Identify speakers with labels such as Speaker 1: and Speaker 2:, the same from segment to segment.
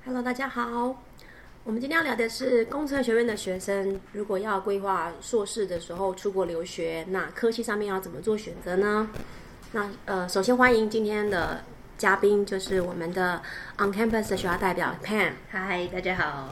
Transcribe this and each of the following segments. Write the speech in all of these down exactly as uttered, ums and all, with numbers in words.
Speaker 1: Hello， 大家好。我們今天要聊的是工程學院的學生，如果要規劃碩士的時候出國留學，那科系上面要怎麼做選擇呢？那呃，首先歡迎今天的嘉賓，就是我們的 On Campus 的學校代表 Pam。
Speaker 2: 嗨，大家好。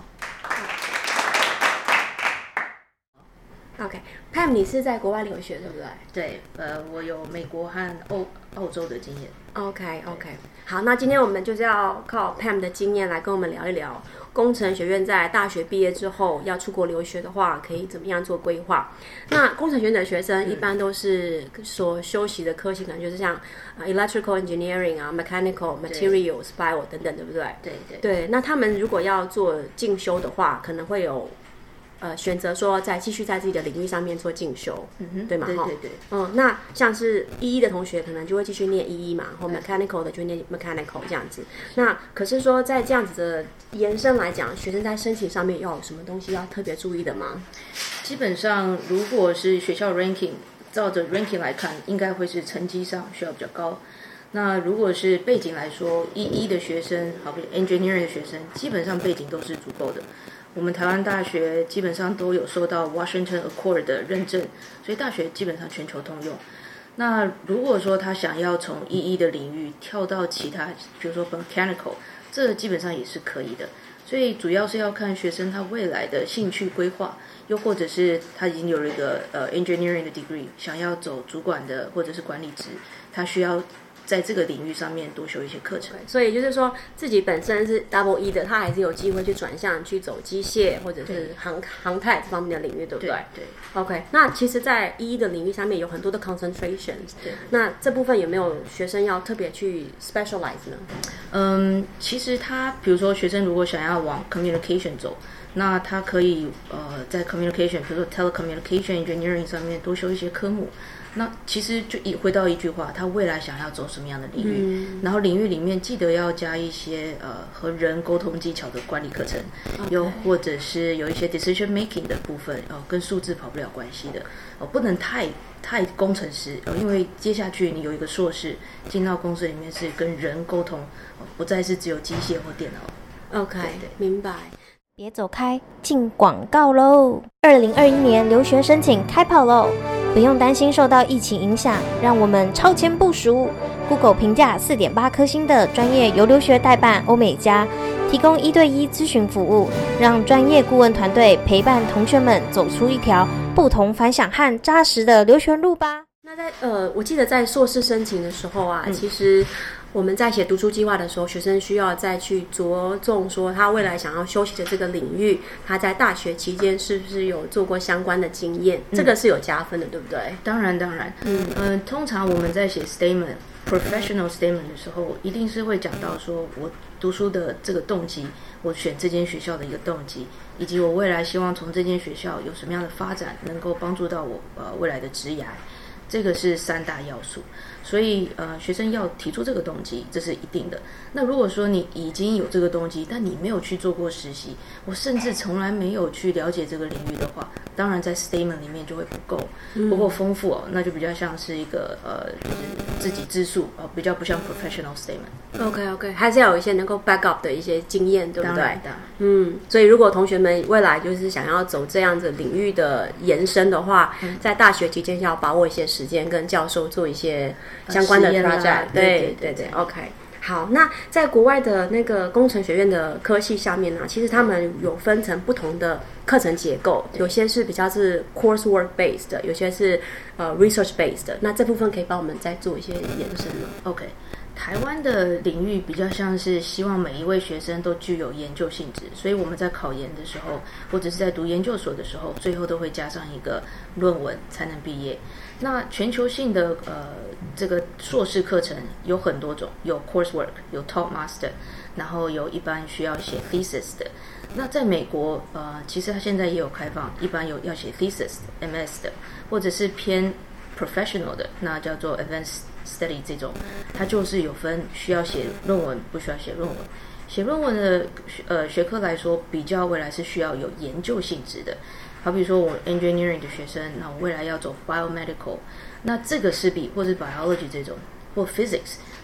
Speaker 1: OK，Pam， 你是在國外留學對不对？
Speaker 2: 對，呃，我有美國和歐澳洲的經驗。
Speaker 1: OK OK， 好，那今天我們就是要靠 Pam 的經驗來跟我們聊一聊，工程學院在大學畢業之後要出國留學的話，可以怎麼樣做規劃？那工程學院的學生一般都是所修習的科系，可能就是像 electrical engineering 啊、mechanical materials、bio 等等，對不对？
Speaker 2: 對對
Speaker 1: 对。那他們如果要做進修的話，可能會有。呃，選擇說再繼續在自己的領域上面做進修，嗯哼，對嗎？
Speaker 2: 對對對。
Speaker 1: 嗯，那像是一一的同學可能就會繼續念一一嘛，或 mechanical 的就念 mechanical 這樣子。那可是說在這樣子的延伸來講，學生在申請上面要有什麼東西要特別注意的嗎？
Speaker 2: 基本上，如果是學校 ranking， 照着 ranking 來看，應該會是成績上需要比較高。那如果是背景來說，一一的學生，好比 engineering 的學生，基本上背景都是足夠的。我們台灣大學基本上都有受到 Washington Accord 的認證，所以大學基本上全球通用。那如果說他想要從一一的領域跳到其他，比如說 mechanical， 這基本上也是可以的。所以主要是要看學生他未來的興趣規劃，又或者是他已經有了一個呃 engineering 的 degree， 想要走主管的或者是管理職，他需要在這個領域上面多修一些課程。
Speaker 1: 所以就是說自己本身是 double E 的，他還是有機會去轉向去走機械或者是航航太這方面的領域，對不對？
Speaker 2: 對。對
Speaker 1: OK， 那其實在一一的領域上面有很多的 concentrations， 那這部分有沒有學生要特別去 specialize 呢？
Speaker 2: 嗯，其實他比如說學生如果想要往 communication 走，那他可以呃在 communication， 比如說 telecommunication engineering 上面多修一些科目。那其實就一回到一句話，他未來想要走什麼樣的領域，嗯、然後領域裡面記得要加一些呃和人溝通技巧的管理課程， okay. 又或者是有一些 decision making 的部分，哦、呃，跟數字跑不了關係的，哦、呃，不能太太工程師，呃，因為接下去你有一個碩士進到公司裡面是跟人溝通，呃，不再是只有機械或電腦。
Speaker 1: OK，對對明白。
Speaker 3: 別走開，進廣告嘍！二零二一年留學申請開跑嘍！不用擔心受到疫情影響，讓我們超前部署。Google 評價 四點八 顆星的專業遊留學代辦歐美加，提供一對一諮詢服務，讓專業顧問團隊陪伴同學們走出一條不同凡響和扎實的留學路吧。
Speaker 1: 那在呃，我記得在碩士申請的時候啊，嗯、其實我們在寫讀書計劃的時候，學生需要再去着重說他未來想要修習的這個領域，他在大學期間是不是有做過相關的經驗，嗯、這個是有加分的，對不對？
Speaker 2: 當然，當然，嗯嗯、呃，通常我們在寫 statement、professional statement 的時候，一定是會講到說我讀書的這個動機，我選這間學校的一個動機，以及我未來希望從這間學校有什麼樣的發展，能夠幫助到我呃未來的職涯。這個是三大要素，所以呃，學生要提出這個動機，這是一定的。那如果說你已經有這個動機，但你沒有去做過實習，我甚至從來沒有去了解這個領域的話，當然在 statement 裡面就會不夠，不夠豐富哦，那就比較像是一個呃，就是自己自述哦，比較不像 professional statement。
Speaker 1: OK OK， 還是要有一些能夠 back up 的一些經驗，對不對？
Speaker 2: 當然的。
Speaker 1: 嗯，所以如果同學們未來就是想要走這樣子領域的延伸的話，嗯、在大學期間要把握一些時間，跟教授做一些相關的 project。對對對，對對 ，OK。好，那在國外的那個工程學院的科系下面呢，其實他們有分成不同的課程結構，有些是比較是 coursework based 的，有些是呃 research based 的。那這部分可以幫我們再做一些延伸嗎？
Speaker 2: OK。台灣的領域比較像是希望每一位學生都具有研究性質，所以我們在考研的時候，或者是在讀研究所的時候，最後都會加上一個論文才能畢業。那全球性的呃這個碩士課程有很多種，有 coursework， 有 talk master， 然後有一般需要寫 thesis 的。那在美國呃其實它現在也有開放，一般有要寫 thesis、M S 的，或者是偏 professional 的，那叫做 advanced study 這種，它就是有分需要寫論文，不需要寫論文。寫論文的呃學科來說，比較未來是需要有研究性質的。好比說我 engineering 的學生，那我未來要走 biomedical， 那這個是比或是 biology 這種或 physics，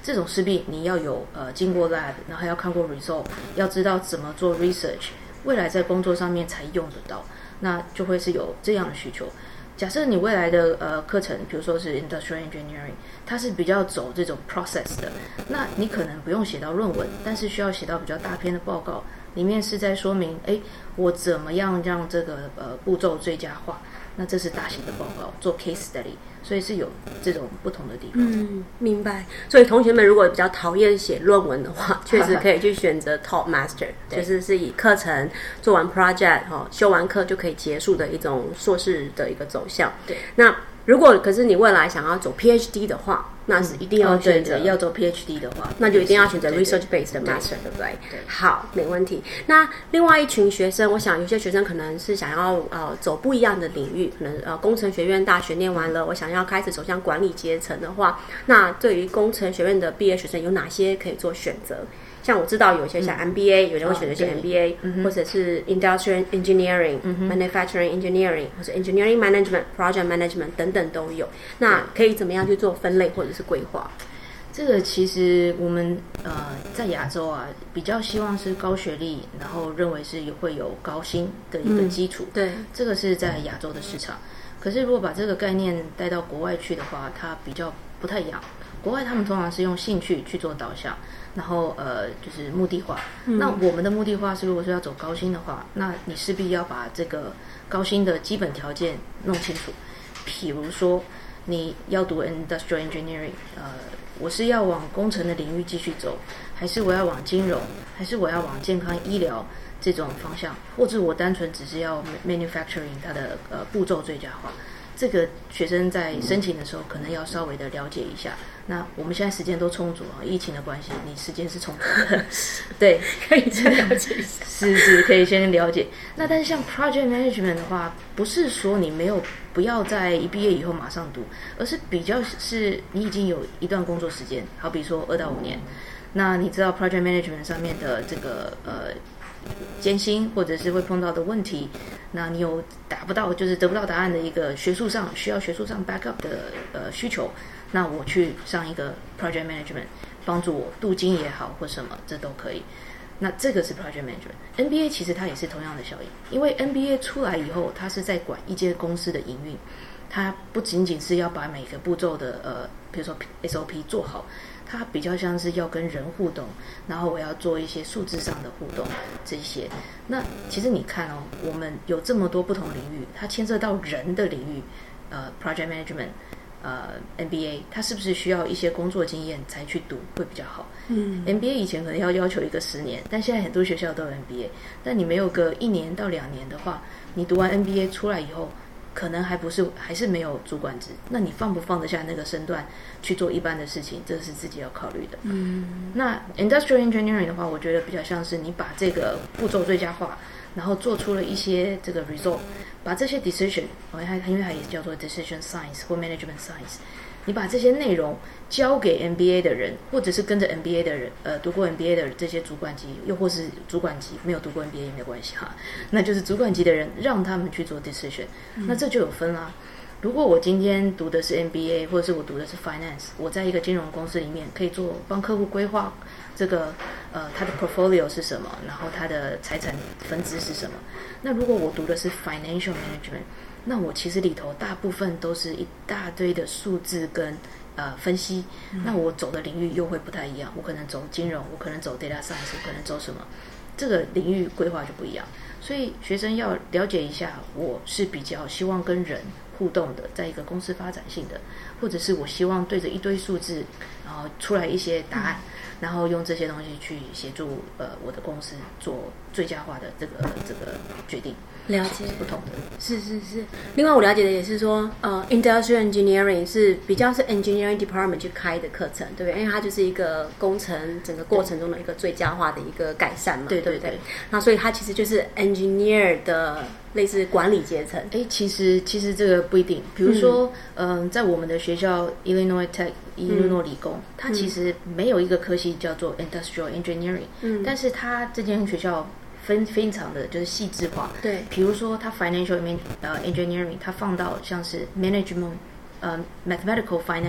Speaker 2: 這種勢必你要有呃經過 lab， 然後要看過 result， 要知道怎麼做 research， 未來在工作上面才用得到，那就會是有這樣的需求。假設你未來的呃課程，比如說是 industrial engineering， 它是比較走這種 process 的，那你可能不用寫到論文，但是需要寫到比較大篇的報告，裡面是在說明，哎，我怎麼樣讓這個呃步驟最佳化。那這是大型的報告，做 case study， 所以是有這種不同的地方。
Speaker 1: 嗯，明白。所以同學們如果比較討厭寫論文的話，確實可以去選擇 Top Master， 就是是以課程做完 project 哈，修完課就可以結束的一種碩士的一個走向。
Speaker 2: 對，
Speaker 1: 那如果可是你未來想要走 PhD 的話，那是一定要選擇、嗯哦、
Speaker 2: 對要走 PhD 的話，
Speaker 1: 那就一定要選擇 research based 的 master， 對不对？
Speaker 2: 对，
Speaker 1: 好，沒問題。那另外一群學生，我想有些學生可能是想要呃走不一樣的領域，可能呃工程學院大學念完了，我想要開始走向管理階層的話，那對於工程學院的畢業學生有哪些可以做選擇？像我知道有些像 M B A，、嗯、有人會選擇些 M B A，、哦、或者是 Industrial Engineering、嗯、Manufacturing Engineering， 或者 Engineering Management、Project Management 等等都有。那可以怎麼樣去做分類或者是規劃？
Speaker 2: 這個其實我們呃在亞洲啊，比較希望是高學歷，然後認為是會有高薪的一個基礎。嗯、對，這個是在亞洲的市場。可是如果把這個概念帶到國外去的話，它比較不太一樣。國外他們通常是用興趣去做導向，然後呃就是目的化。嗯、那我們的目的化是，如果說要走高薪的話，那你勢必要把這個高薪的基本條件弄清楚。譬如說你要讀 Industrial Engineering， 呃，我是要往工程的領域繼續走，還是我要往金融，還是我要往健康醫療這種方向，或者我單純只是要 manufacturing 它的呃步驟最佳化。這個學生在申請的時候可能要稍微的了解一下。那我們現在時間都充足啊，疫情的關係，你時間是充足的，對，
Speaker 1: 可以先了解一下。
Speaker 2: 是是，可以先了解。那但是像 project management 的話，不是說你沒有不要在一畢業以後馬上讀，而是比較是你已經有一段工作時間，好比說二到五年。那你知道 project management 上面的這個呃艱辛或者是會碰到的問題，那你有達不到就是得不到答案的一個學術上需要學術上 backup 的呃需求，那我去上一個 project management 幫助我鍍金也好或什麼，這都可以。那這個是 project management。N B A 其實它也是同樣的效應，因為 N B A 出來以後，它是在管一間公司的營運，它不僅僅是要把每個步驟的呃比如說 S O P 做好，它比較像是要跟人互動，然後我要做一些數字上的互動這些。那其實你看哦，我們有這麼多不同領域，它牽涉到人的領域，呃 project management， 呃 M B A， 它是不是需要一些工作經驗才去讀會比較好？嗯 M B A 以前可能要要求一個十年，但現在很多學校都有 M B A， 但你沒有個一年到兩年的話，你讀完 M B A 出來以後，可能還不是還是沒有主管職，那你放不放得下那個身段去做一般的事情，這是自己要考慮的。嗯，那 Industrial Engineering 的話，我覺得比較像是你把這個步驟最佳化，然後做出了一些這個 result， 把這些 decision， 因為它也叫做 decision science 或 management science， 你把這些內容交給 M B A 的人，或者是跟着 M B A 的人，呃，讀過 M B A 的這些主管級，又或是主管級沒有讀過 M B A 也沒有關係哈，那就是主管級的人讓他們去做 decision，、嗯、那這就有分啦。如果我今天讀的是 M B A， 或者是我讀的是 finance， 我在一個金融公司裡面可以做幫客戶規劃這個呃他的 portfolio 是什麼，然後他的財產分支是什麼。那如果我讀的是 financial management， 那我其實裡頭大部分都是一大堆的數字跟呃分析，那我走的領域又會不太一樣，我可能走金融，我可能走 data science， 我可能走什麼，這個領域規劃就不一樣。所以學生要了解一下，我是比較希望跟人互動的，在一個公司發展性的，或者是我希望對着一堆數字，然後出來一些答案，嗯、然後用這些東西去協助呃我的公司做最佳化的這個這個決定。
Speaker 1: 了解，
Speaker 2: 是不同的，
Speaker 1: 是是是。另外我了解的也是說，呃 ，Industrial Engineering 是比較是 Engineering Department 去開的課程，對不對？因為它就是一個工程整個過程中的一個最佳化的一個改善嘛，對對 對, 對, 對。那所以它其實就是 Engineer 的類似管理階層。哎，其實其實這個不一定。比如說，嗯、呃，在我們的學校 Illinois Tech 伊利諾理工，嗯、它其實沒有一個科系叫做 Industrial Engineering，嗯，但是它這間學校分非常的就是細緻化，對，比如說它 financial 呃 engineering， 它放到像是 management 呃 mathematical finance，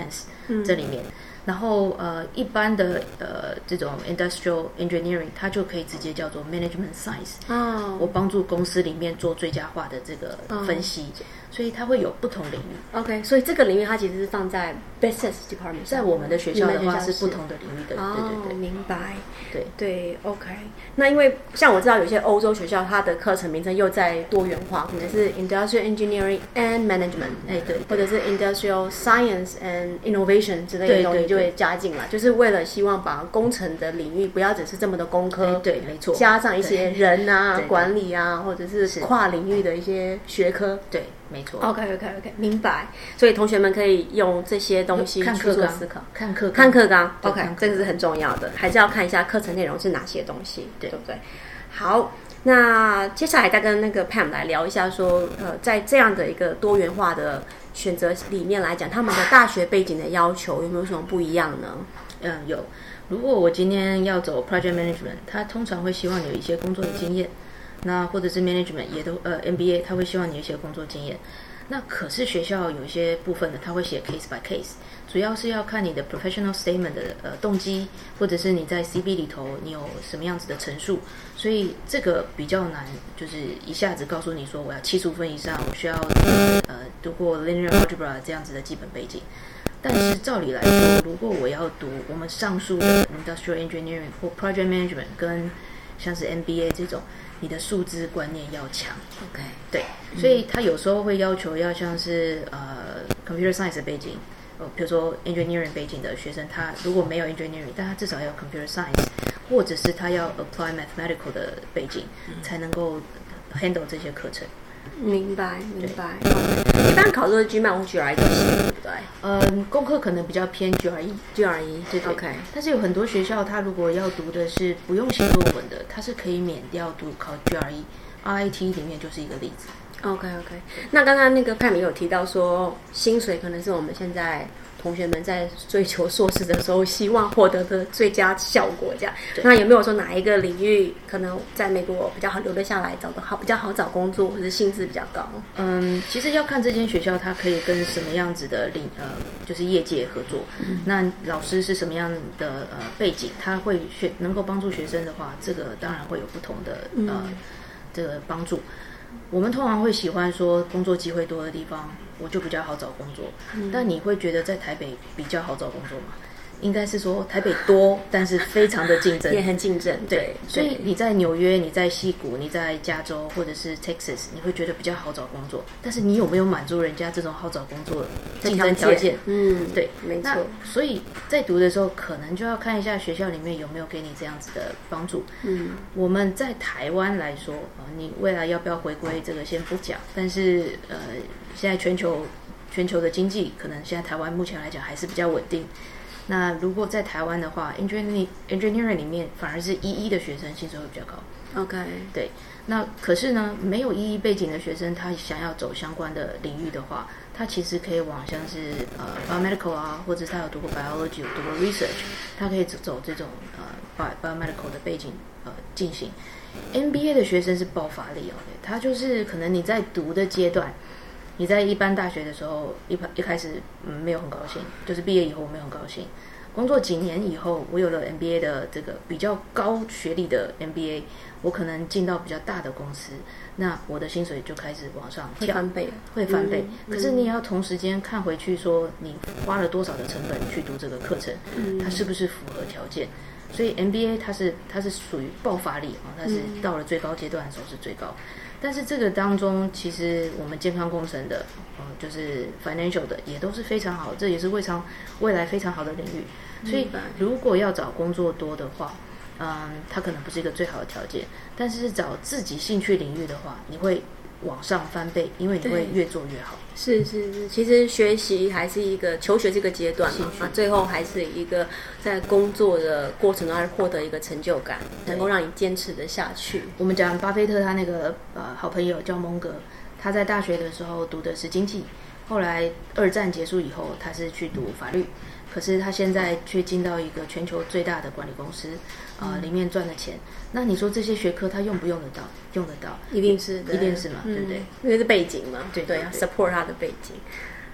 Speaker 2: 這裡面。嗯然後呃，一般的呃這種 industrial engineering， 它就可以直接叫做 management science。哦，我幫助公司裡面做最佳化的這個分析，哦、所以它會有不同領域。
Speaker 1: OK， 所以這個領域它其實是放在 business department，
Speaker 2: 在我們的學校的話是不同的領域的。
Speaker 1: 哦、
Speaker 2: 對對對，
Speaker 1: 明白。
Speaker 2: 對
Speaker 1: 對 ，OK。那因為像我知道有些歐洲學校，它的課程名稱又在多元化，可能是 industrial engineering and management， 哎對，或者是 industrial science and innovation 之類的東西。對對對，就會加進來，就是為了希望把工程的領域不要只是這麼的工科，
Speaker 2: 對，沒錯，
Speaker 1: 加上一些人啊、
Speaker 2: 對對對
Speaker 1: 管理啊，或者是跨領域的一些學科，
Speaker 2: 對，沒錯。
Speaker 1: OK OK OK， 明白。所以同學們可以用這些東西去做思考，
Speaker 2: 看課
Speaker 1: 看課綱 ，OK， 這個是很重要的，還是要看一下課程內容是哪些東西，對，對不對？好，那接下來再跟那個 Pam 來聊一下說，說呃，在這樣的一個多元化的選擇裡面來講，他們的大學背景的要求有沒有什麼不一樣呢？
Speaker 2: 嗯，有。如果我今天要走 project management， 他通常會希望有一些工作的經驗，那或者是 management 也都呃 M B A， 他會希望你有一些工作經驗。那可是學校有一些部分的，他會寫 case by case， 主要是要看你的 professional statement 的呃動機，或者是你在 C V 裡頭你有什麼樣子的陳述，所以這個比較難，就是一下子告訴你說我要七十五分以上，我需要呃讀過 linear algebra 這樣子的基本背景。但是照理來說，如果我要讀我們上述的 industrial engineering 或 project management 跟像是 M B A 這種，你的數字觀念要強。
Speaker 1: OK，
Speaker 2: 對，所以他有時候會要求要像是呃 computer science 的背景，呃，比如說 engineering 背景的學生，他如果沒有 engineering， 但他至少要 computer science， 或者是他要 apply mathematical 的背景，才能夠 handle 這些課程。
Speaker 1: 明白，明白。一般考的是 GMAT 或 G R E 都行，對不對？
Speaker 2: 嗯，功課可能比較偏 G R E，G R E， 對對。OK。但是有很多學校，他如果要讀的是不用寫論文的，他是可以免掉讀考 G R E。R I T 裡面就是一個例子。
Speaker 1: OK OK。那剛剛那個Pam有提到說，薪水可能是我們現在同學們在追求碩士的時候希望獲得的最佳效果，這樣。那有沒有說哪一個領域可能在美國比較好留得下來，找得好，比較好找工作，或者薪資比較高？
Speaker 2: 嗯，其實要看這間學校它可以跟什麼樣子的領呃，就是業界合作。嗯、那老師是什麼樣的呃背景，他會學能夠幫助學生的話，這個當然會有不同的呃、嗯、這個幫助。我們通常會喜歡說工作機會多的地方，我就比較好找工作。嗯、但你會覺得在台北比較好找工作嗎？應該是說台北多，但是非常的競爭，
Speaker 1: 也很競爭。對，
Speaker 2: 所以你在紐約、你在矽谷、你在加州或者是 Texas， 你會覺得比較好找工作。但是你有沒有滿足人家這種好找工作的競爭條件？
Speaker 1: 嗯，
Speaker 2: 對，
Speaker 1: 沒錯。
Speaker 2: 所以在讀的時候，可能就要看一下學校裡面有沒有給你這樣子的幫助。嗯，我們在台灣來說，呃，你未來要不要回歸，這個先不講。但是呃，現在全球全球的經濟，可能現在台灣目前來講還是比較穩定。那如果在台灣的話 ，engineering engineering 裡面反而是一一的學生薪水會比較高。
Speaker 1: OK，
Speaker 2: 對。那可是呢，沒有一一背景的學生，他想要走相關的領域的話，他其實可以往像是呃 biomedical 啊，或者是他有讀過 biology， 有讀過 research， 他可以走這種呃 biomedical 的背景呃進行。M B A 的學生是爆發力哦，他就是可能你在讀的階段。你在一般大學的時候，一一開始嗯沒有很高興，就是畢業以後我沒有很高興。工作幾年以後，我有了 M B A 的這個比較高學歷的 M B A， 我可能進到比較大的公司，那我的薪水就開始往上跳，
Speaker 1: 會翻倍，
Speaker 2: 會翻倍。
Speaker 1: 嗯、
Speaker 2: 可是你也要同時間看回去，說你花了多少的成本去讀這個課程，嗯、它是不是符合條件？所以 M B A 它是它是屬於爆發力啊，它是到了最高階段的時候是最高。但是這個當中，其實我們健康工程的，呃，就是 financial 的，也都是非常好，這也是非常未來非常好的領域。所以如果要找工作多的話，嗯，它可能不是一個最好的條件。但是找自己興趣領域的話，你會往上翻倍，因為你會越做越好。
Speaker 1: 是是是，其實學習還是一個求學這個階段嘛，啊，最後還是一個在工作的過程中獲得一個成就感，能夠讓你堅持的下去。
Speaker 2: 我們講巴菲特他那個呃好朋友叫蒙格，他在大學的時候讀的是經濟，後來二戰結束以後，他是去讀法律。可是他現在卻進到一個全球最大的管理公司，啊、呃，裡面賺的錢。那你說這些學科他用不用得到？用得到，
Speaker 1: 一定是，
Speaker 2: 一定是嘛，嗯、對不對？
Speaker 1: 因為是背景嘛，
Speaker 2: 對
Speaker 1: 對啊 ，support 他的背景。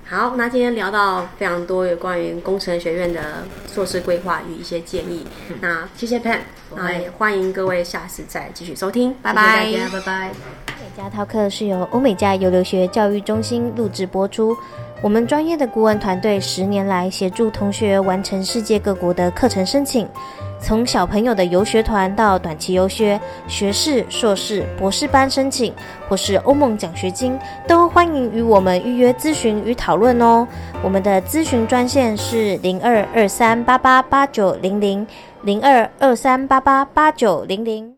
Speaker 1: 好，那今天聊到非常多有關於工程學院的碩士規劃與一些建議。嗯、那謝謝 Pam， 那也歡迎各位下次再繼續收聽，拜拜，
Speaker 2: 謝謝大家，拜拜。
Speaker 3: 美加 Talk 是由歐美加遊留學教育中心錄製播出。我們專業的顧問團隊十年來協助同學完成世界各國的課程申請，從小朋友的遊學團到短期遊學、學士、碩士、博士班申請，或是歐盟獎學金，都歡迎與我們預約諮詢與討論哦。我們的諮詢專線是零二二三八八八九零零零二二三八八八九零零。